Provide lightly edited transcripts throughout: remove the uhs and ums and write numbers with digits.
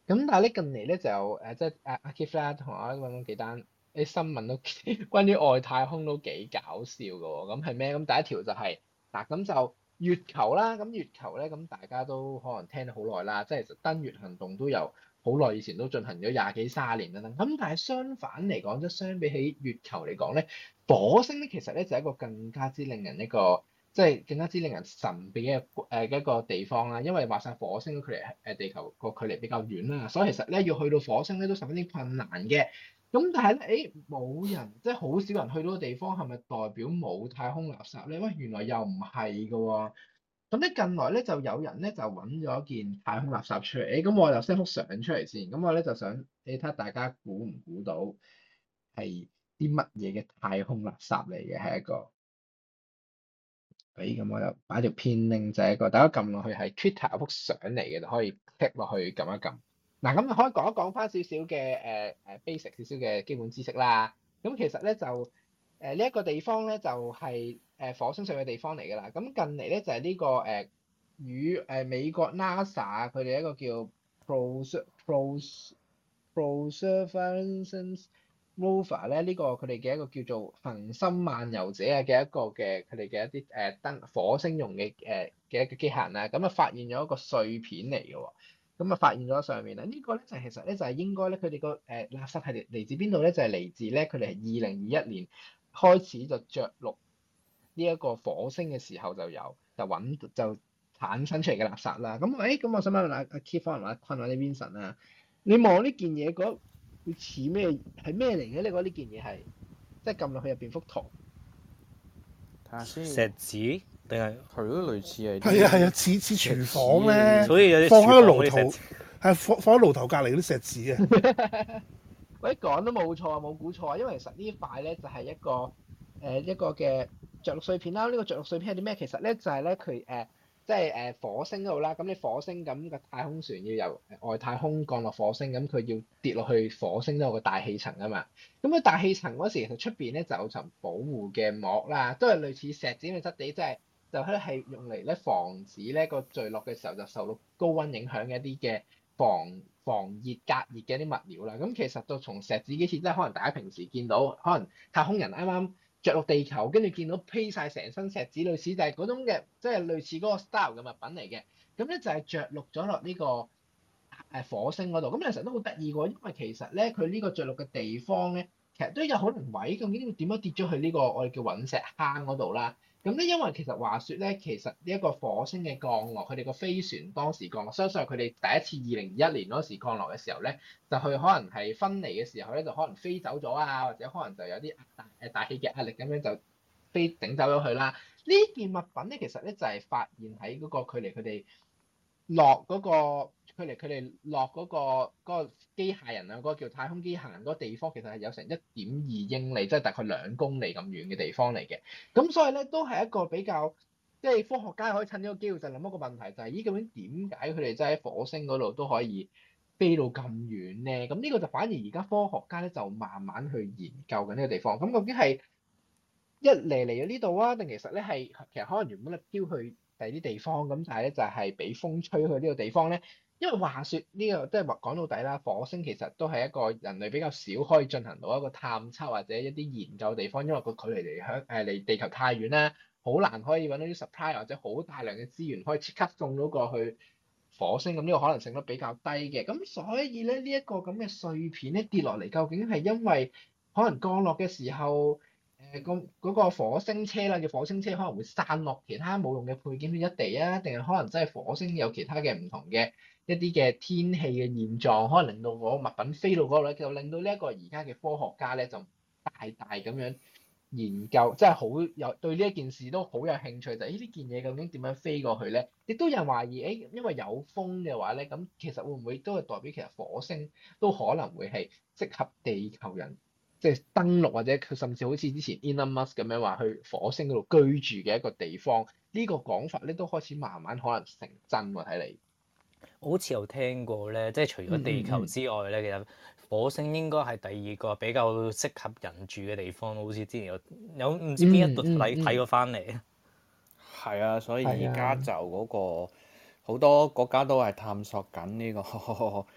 咁但係咧近嚟咧就有即係阿 Keith 啦，同我揾咗幾單啲新聞都關於外太空都幾搞笑嘅喎。咁係咩？咁第一條就係嗱，咁就月球啦。咁月球咧，咁大家都可能聽咗好耐啦，即係其實登月行動都有好耐以前都進行咗廿幾30年啦。咁但係相反嚟講，即係相比起月球嚟講咧，火星咧其實咧就係一個更加之令人一個即係更加之令人神秘嘅一個地方啦。因為話晒火星距離地球個距離比較遠啦，所以其實咧要去到火星咧都十分之困難嘅。咁但係咧，冇人即係好少人去到個地方，係咪代表冇太空垃圾咧？喂，原來又唔係㗎喎。咁咧近來咧就有人咧就揾咗件太空垃圾出嚟。咁我就 send 幅相出嚟先。咁我咧就想你睇下大家估唔估到係啲乜嘢嘅太空垃圾嚟嘅？係一個。咁我就擺條片 link 就係一個，大家撳落去係 Twitter 嗰幅相嚟嘅，就可以 click 落去撳一撳。嗱，咁就可以講一講翻少少嘅basic 少少嘅基本知識啦。咁其實咧就呢一個地方咧就係火星上嘅地方嚟㗎啦。咁近嚟咧就係呢個與美國 NASA 佢哋一個叫 Perseverance Rover 咧，呢個佢哋嘅一個叫做恆星漫遊者嘅一個嘅佢哋嘅一啲登火星用嘅嘅一個機械人啦。咁啊發現咗一個碎片嚟嘅喎。咁啊發現咗上面啦，呢個咧就其實咧就係應該咧佢哋個垃圾係嚟自邊度咧？就係嚟自咧佢哋係2021年開始就着陸呢一個火星嘅時候就就產生出嚟嘅垃圾啦。咁咁我想問阿 Keith 同阿坤或者 Vincent 啊，你望呢件嘢覺得會似咩？係咩嚟嘅？你覺得呢件嘢係即係撳落去入邊幅圖？ 睇下先。 石子定係係咯，類似係。 係啊，似廚房咧， 所以有啲放喺個爐頭， 廚房嗰啲石子係放喺爐頭隔離嗰啲石子啊。 喂，講都冇錯，冇估錯啊！因為其實呢一塊咧就係一個嘅着陸碎片啦。呢個着陸碎片係啲咩？其實咧就係咧佢即係火星嗰度啦。咁你火星咁個太空船要由外太空降落火星，咁佢要跌落去火星都有個大氣層啊嘛。咁個大氣層嗰時其實出邊咧就有層保護嘅膜啦，都係類似石子咁嘅質地，即係就係用嚟咧防止咧個墜落嘅時候就受到高溫影響嘅一啲嘅防熱隔熱嘅一啲物料啦。咁其實就從石子機設，即係可能大家平時見到，可能太空人啱啱着陸地球，跟住見到披晒成身石子，類似就係嗰種嘅，即係類似嗰個 style 嘅物品嚟嘅。咁咧就係着陸咗落呢個火星嗰度。咁其實都好得意喎，因為其實咧佢呢個着陸嘅地方咧，其實都有可能位，究竟點樣跌咗去呢個我哋叫隕石坑嗰度啦？咁咧，因為其實話説咧，其實呢一個火星嘅降落，佢哋個飛船當時降落，相信係佢哋第一次2021年嗰時降落嘅時候咧，就去可能係分離嘅時候咧，就可能飛走咗啊，或者可能就有啲大氣嘅壓力咁樣就飛整走咗佢啦。呢件物品咧，其實咧就係發現喺嗰個距離佢哋落嗰個機械人啊，嗰個叫太空機械人嗰個地方，其實係有成1.2英里，即係大概2公里咁遠嘅地方嚟嘅。咁所以咧，都係一個比較即係科學家可以趁呢個機會就諗一個問題，就係咦，究竟點解佢哋真係喺火星嗰度都可以飛到咁遠咧？咁呢個就反而而家科學家咧就慢慢去研究緊呢個地方。咁究竟係一嚟咗呢度啊，定其實咧係其實可能原本咧飄去第二啲地方，咁但係咧就係俾風吹去呢個地方咧。因為話説呢個即係話講到底啦，火星其實都係一個人類比較少可以進行到一個探測或者一啲研究地方，因為個距離離地球太遠啦，好難可以揾到啲 supply 或者好大量嘅資源可以即刻送到過去火星，咁呢個可能性都比較低嘅。咁所以咧呢一個咁嘅碎片咧跌落嚟，究竟係因為可能降落嘅時候嗰個火星車啦，叫火星車可能會散落其他冇用嘅配件去一地啊，定係可能真係火星有其他嘅唔同嘅一啲嘅天氣嘅現狀，可能令到嗰個物品飛到嗰度咧，就令到呢一個而家嘅科學家咧就大咁樣研究，即係好有對呢一件事都好有興趣，就係呢件嘢究竟點樣飛過去咧？亦都有人懷疑，因為有風嘅話咧，咁其實會唔會都係代表其實火星都可能會係適合地球人即係登陸，或者佢甚至好似之前 Elon Musk 咁樣話去火星嗰度居住嘅一個地方？呢個講法咧都開始慢慢可能成真喎，睇嚟。 我好似有聽過咧，即係除咗地球之外咧，其實火星應該係第二個比較適合人住嘅地方。好似之前有唔知邊一度睇過翻嚟。 係啊，所以而家就嗰個好多國家都係探索緊呢個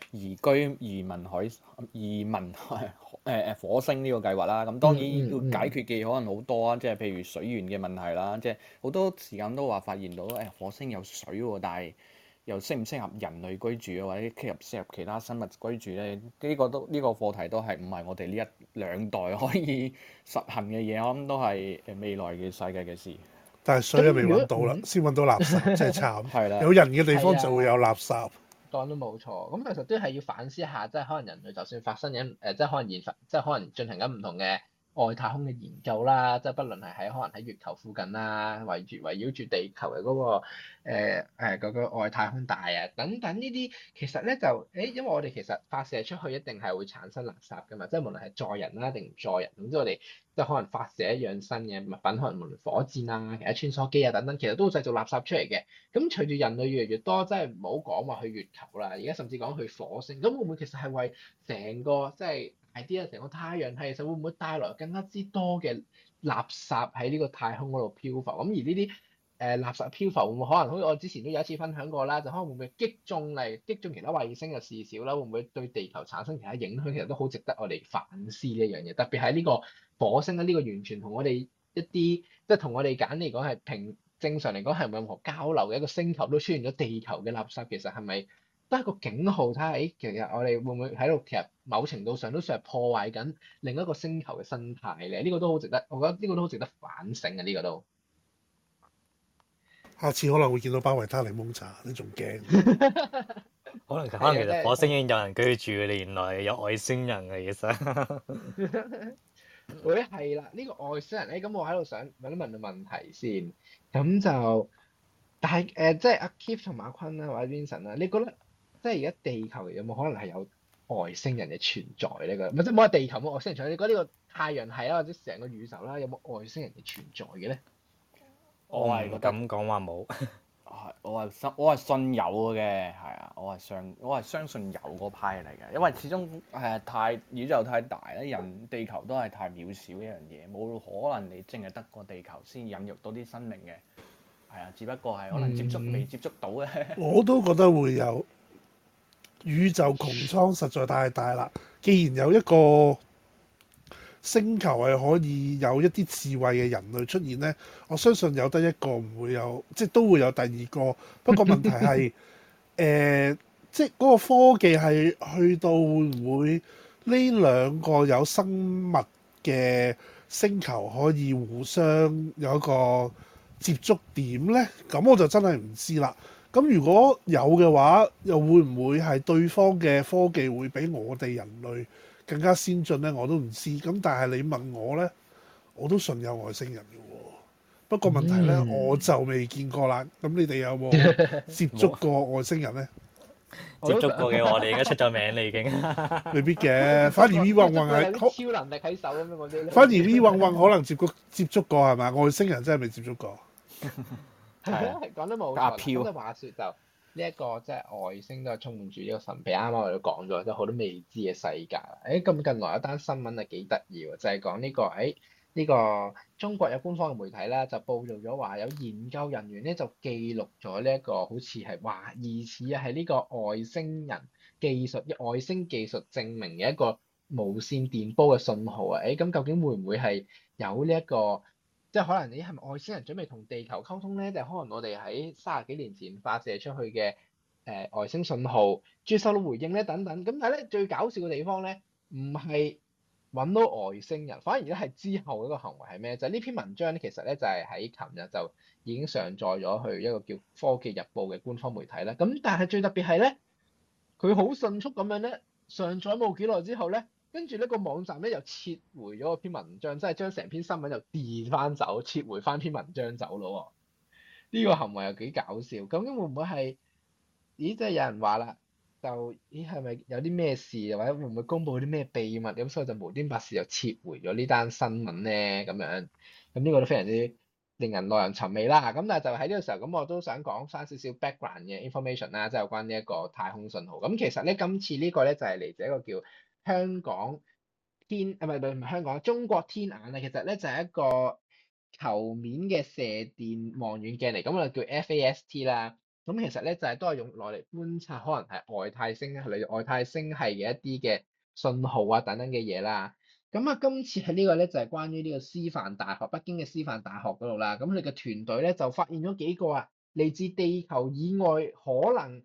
移民火星呢個計劃啦。咁當然要解決嘅可能好多啊，即係譬如水源嘅問題啦，即係好多時間都話發現到火星有水喎，但係又適唔適合人類居住啊，或者適合其他生物居住咧？呢個課題都係唔係我哋呢一兩代可以實行嘅嘢，我諗都係未來嘅世界嘅事。 但係水又未揾到啦，先揾到垃圾，真係慘。 係啦， 有人嘅地方就會有垃圾。 講得冇錯，咁其實都係要反思下，即係可能人類就算發生緊即係可能即係可能進行緊唔同嘅外太空嘅研究啦，即係不論係可能喺月球附近啦，圍繞住地球嘅嗰個外太空帶啊等等呢啲，其實咧就因為我哋其實發射出去一定係會產生垃圾㗎嘛，即係無論係載人啦定唔載人，總之我哋即係可能發射一樣新嘅物品，可能無論火箭啊、其他穿梭機啊等等，其實都會製造垃圾出嚟嘅。咁隨住人類越嚟越多，即係唔好講話去月球啦，而家甚至講去火星，咁會唔會其實係為成個即係idea成個太陽系，其實會唔會帶來更加之多嘅垃圾喺呢個太空嗰度漂浮？咁而呢啲垃圾漂浮會唔會可能好似我之前都有一次分享過啦，就可能會唔會擊中其他衛星嘅事小啦？會唔會對地球產生其他影響？其實都好值得我哋反思呢一樣嘢，特別係呢個火星咧，呢個完全同我哋一啲即係同我哋簡嚟講係正常嚟講係冇任何交流嘅一個星球都出現咗地球嘅垃圾，其實係咪都係一個警號？睇下其實我哋會唔會喺度其實某程度上都算係破壞緊另一個星球嘅生態咧？呢個都好值得，我覺得呢個都好值得反省嘅，呢個都。 下次可能會見到包維他檸檬茶，你仲驚？ 可能其實火星已經有人居住嘅，你原來有外星人嘅其實。 會係啦，呢個外星人咧，咁我喺度想問個問題先，咁就但係即係阿 Keith 同阿坤啦，或者 Vincent 啦，你覺得即係而家地球有冇可能係有外星人嘅存在呢？唔係即係冇話地球冇外星人存在，你覺得呢個太陽系啦，或者成個宇宙啦，有冇外星人嘅存在嘅咧？ 我係咁講話冇。 我係信有嘅，係啊，我係相信有嗰派嚟嘅，因為始終宇宙太大咧，地球都係太渺小一樣嘢，冇可能你淨係得個地球先引入到啲生命嘅，係啊，只不過係可能未接觸到嘅。 我都覺得會有，宇宙穹蒼實在太大啦，既然有一個星球係可以有一啲智慧嘅人類出現呢，我相信有得一個唔會有，即係都會有第二個。不過問題係即係嗰個科技係去到會唔會呢兩個有生物嘅星球可以互相有一個接觸點呢？咁我就真係唔知啦。咁如果有嘅話，又會唔會係對方嘅科技會比我哋人類更加先進咧？我都唔知。咁但係你問我咧，我都信有外星人嘅喎。不過問題咧，我就未見過啦。咁你哋有冇接觸過外星人咧？ 接觸過嘅，我哋而家出咗名啦已經。 未必嘅，反而 V 運係超能力喺手咁樣嗰啲咧。 反而 V 運可能接觸過係咪？外星人真係未接觸過。 係啊，講得冇錯。咁即係話説就呢一個即係外星都係充滿住呢個神秘。啱啱我哋都講咗，即係好多未知嘅世界。咁近來一單新聞係幾得意喎，就係講呢個中國有官方嘅媒體啦，就報導咗話有研究人員咧就記錄咗呢一個好似係話疑似係呢個外星技術證明嘅一個無線電波嘅信號啊！咁究竟會唔會係有呢一個？即係可能你係咪外星人準備同地球溝通咧？就係可能我哋喺30幾年前發射出去嘅外星信號，接收到回應咧等等。咁但係咧最搞笑嘅地方咧，唔係揾到外星人，反而咧係之後一個行為係咩？就係呢篇文章咧，其實咧就係喺琴日就已經上載咗去一個叫《科技日報》嘅官方媒體啦。咁但係最特別係咧，佢好迅速咁樣咧上載冇幾耐之後咧。跟住呢個網站咧又撤回咗篇文章，即係將成篇新聞又 delete 翻走，撤回翻篇文章走咯。呢個行為又幾搞笑。究竟會唔會係？咦，即係有人話啦，就係咪有啲咩事，或者會唔會公佈啲咩秘密？咁所以就無端白事又撤回咗呢單新聞咧咁樣。咁呢個都非常之令人耐人尋味啦。咁但係就喺呢個時候，咁我都想講翻少少 background 嘅 information 啦，即係有關呢一個太空信號。咁其實咧，今次呢個咧就係嚟自一個叫香港唔係香港，中國天眼啊，其實咧就係一個球面嘅射電望遠鏡嚟，咁我就叫 FAST 啦。 咁其實咧就係都係用來嚟觀察可能係外太星例如外太星系嘅一啲嘅信號啊等等嘅嘢啦。咁啊，今次喺呢個咧就係關於呢個師範大學，北京嘅師範大學嗰度啦。咁佢哋嘅團隊咧就發現咗幾個嚟自地球以外，可能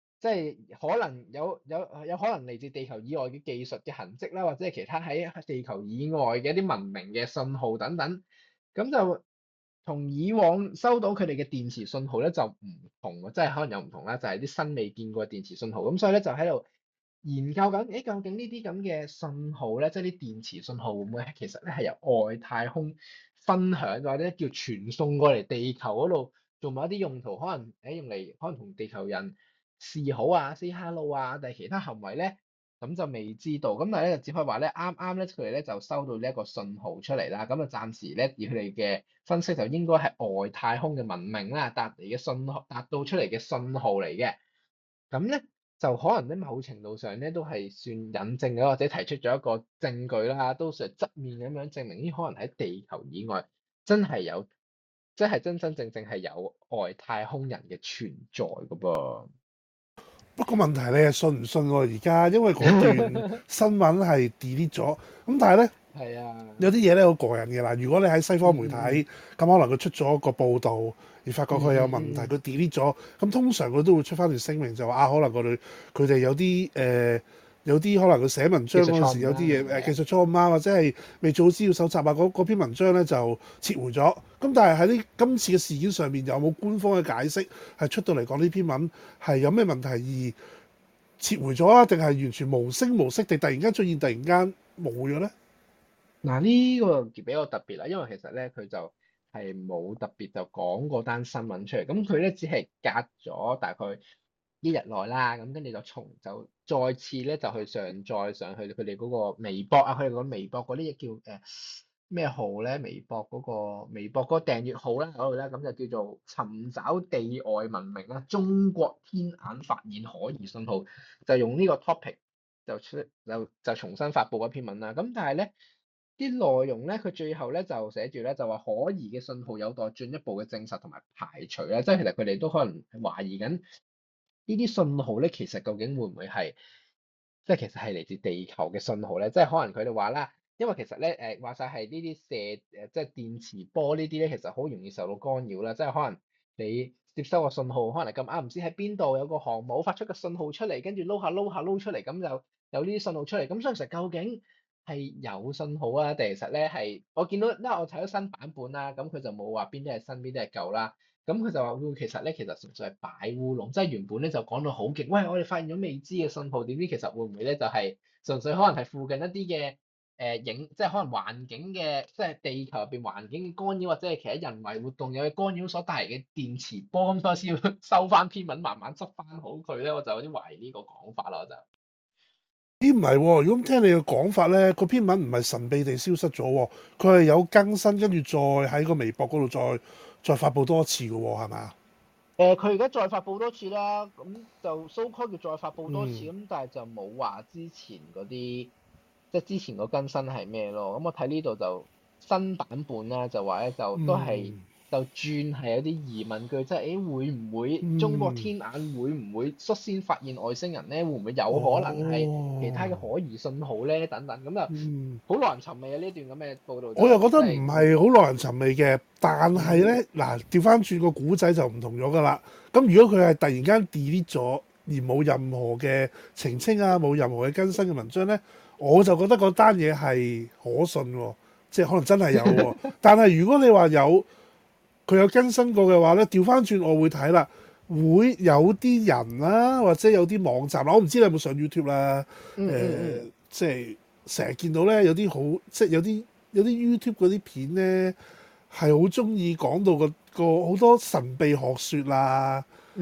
有可能嚟自地球以外嘅技術嘅痕跡啦，或者係其他喺地球以外嘅一啲文明嘅信號等等。咁就同以往收到佢哋嘅電磁信號咧就唔同，即係可能有唔同啦，就係啲新未見過嘅電磁信號。咁所以咧就喺度研究緊，究竟呢啲咁嘅信號咧，即係啲電磁信號會唔會其實咧係由外太空分享或者叫傳送過嚟地球嗰度做某一啲用途，可能用嚟可能同地球人示好啊、say hello 啊，定係其他行為咧，咁就未知道。咁但係咧就只可以話咧，啱啱咧佢哋咧就收到呢一個信號出嚟啦。咁啊暫時咧以佢哋嘅分析就應該係外太空嘅文明啦，達到出嚟嘅信號嚟嘅。咁咧就可能喺某程度上咧都係算引證咗或者提出咗一個證據啦，都算係側面咁樣證明呢可能喺地球以外真係有，即係真真正正係有外太空人嘅存在噶噃。 不過問題你係信唔信喎？而家因為嗰段新聞係 delete 咗，咁但係咧係啊， 有啲嘢咧好過癮嘅啦。如果你喺西方媒體，咁可能佢出咗個報導，而發覺佢有問題，佢 delete 咗，咁通常佢都會出翻條聲明就話可能佢哋有啲可能佢寫文章嗰陣時有啲嘢技術錯誤啊，或者係未做資料搜集啊，嗰篇文章咧就撤回咗。咁但係喺今次嘅事件上面有冇官方嘅解釋係出到嚟講呢篇文係有咩問題而撤回咗啊？定係完全無聲無息地突然間出現，突然間冇咗咧？ 嗱呢個比較特別啦，因為其實咧佢就係冇特別就講過單新聞出嚟，咁佢咧只係隔咗大概一日內啦，咁跟住就再次咧就去上載上去佢哋嗰個微博啊，佢哋個微博嗰啲叫咩號咧？微博嗰個訂閱號啦嗰度咧，咁就叫做尋找地外文明啦，中國天眼發現可疑信號，就用呢個 topic 就重新發布一篇文啦。咁但係咧啲內容咧，佢最後咧就寫住咧就話可疑嘅信號有待進一步嘅證實同埋排除啦，即係其實佢哋都可能懷疑緊呢啲信號咧，其實究竟會唔會係其實係嚟自地球嘅信號咧？即係可能佢哋話啦。因為其實咧話晒係呢啲即係電磁波呢啲咧，其實好容易受到干擾啦。即係可能你接收個信號，可能咁啱唔知喺邊度有個航母發出個信號出嚟，跟住撈出嚟，咁就有呢啲信號出嚟。咁所以其實究竟係有信號啊，定其實咧係我見到，因為我睇咗新版本啦，咁佢就冇話邊啲係新邊啲係舊啦。咁佢就話其實純粹係擺烏龍，即係原本咧就講到好勁，喂我哋發現咗未知嘅信號，點知其實會唔會咧就係純粹可能係附近一啲嘅。即係可能環境嘅，即係地球入邊環境嘅干擾，或者係其他人為活動有嘅干擾所帶嚟嘅電磁波，咁所以先要收翻篇文，慢慢執翻好佢咧。我就有啲懷疑呢個講法啦，我就。 咦唔係喎，如果聽你嘅講法咧，個篇文唔係神秘地消失咗喎，佢係有更新，跟住再喺個微博嗰度再發布多一次嘅喎，係咪啊？ 佢而家再發布多次啦，咁就 so call 叫再發布多次，咁但係就冇話之前嗰啲。即係之前個更新係咩咯？咁我睇呢度就新版本啦，就話咧就都係就轉係有啲疑問句，即係會唔會中國天眼會唔會率先發現外星人咧？會唔會有可能係其他嘅可疑信號咧？等等咁就好耐人尋味啊！呢段咁嘅報導， 我又覺得唔係好耐人尋味嘅，但係咧嗱調翻轉個古仔就唔同咗㗎啦。咁如果佢係突然間 delete 咗而冇任何嘅澄清啊，冇任何嘅更新嘅文章咧，我就覺得嗰單嘢係可信喎，即係可能真係有喎。但係如果你話佢有更新過嘅話咧，調翻轉我會睇啦，會有啲人啦，或者有啲網站啦，我唔知你有冇上 YouTube 啦，即係成日見到咧有啲好，即係有啲 YouTube 嗰啲片咧係好中意講到個好多神秘學説啊，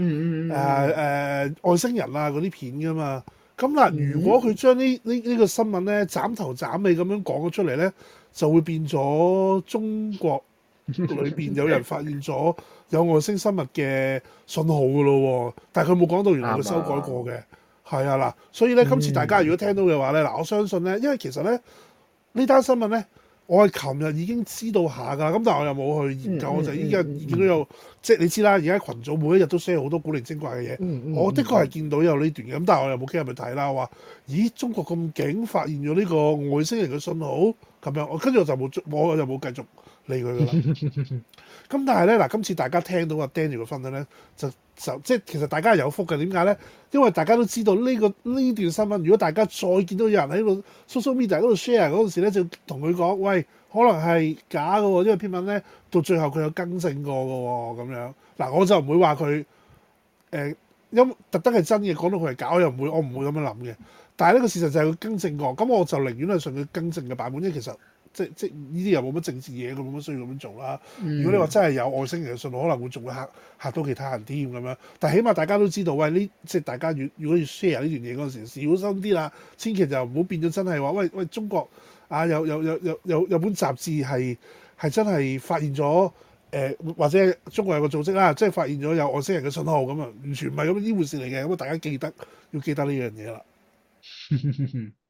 外星人啊嗰啲片㗎嘛。咁嗱，如果佢將呢個新聞咧斬頭斬尾咁樣講咗出嚟咧，就會變咗中國裏邊有人發現咗有外星生物嘅信號噶咯喎，但係佢冇講到原來佢修改過嘅，係啊嗱，所以咧今次大家如果聽到嘅話咧，嗱我相信咧，因為其實咧呢單新聞咧我係琴日已經知道下㗎，咁但係我又冇去研究，我就依家見到有即係你知啦，而家群組每一日都 share 好多古靈精怪嘅嘢，我的確係見到有呢段嘅，咁但係我又冇傾入去睇啦。我話咦，中國咁勁，發現咗呢個外星人嘅信號咁樣，我跟住我就冇繼續理佢㗎啦。咁但係咧嗱，今次大家聽到阿 Daniel 嘅分享咧，就即係其實大家係有福嘅。點解咧？因為大家都知道呢段新聞，如果大家再見到有人喺個 social media 嗰度 share 嗰陣時咧，就同佢講：喂，可能係假嘅喎，因為篇文咧到最後佢有更正過嘅喎，咁樣嗱，我就唔會話佢因特登係真嘅，講到佢係假，我唔會咁樣諗嘅。但係呢個事實就係佢更正過，咁我就寧願係信佢更正嘅版本，因為其實。即呢啲又冇乜政治嘢，佢冇乜需要咁樣做啦。如果你話真係有外星人嘅信號，可能會仲會嚇到其他人添咁樣。但係起碼大家都知道，喂，即係大家如果要 share 呢段嘢嗰陣時，小心啲啦，千祈就唔好變咗真係話，喂，中國啊有本雜誌係真係發現咗或者中國有個組織啦，即係發現咗有外星人嘅信號咁啊，完全唔係咁呢回事嚟嘅。咁啊，大家要記得呢樣嘢啦。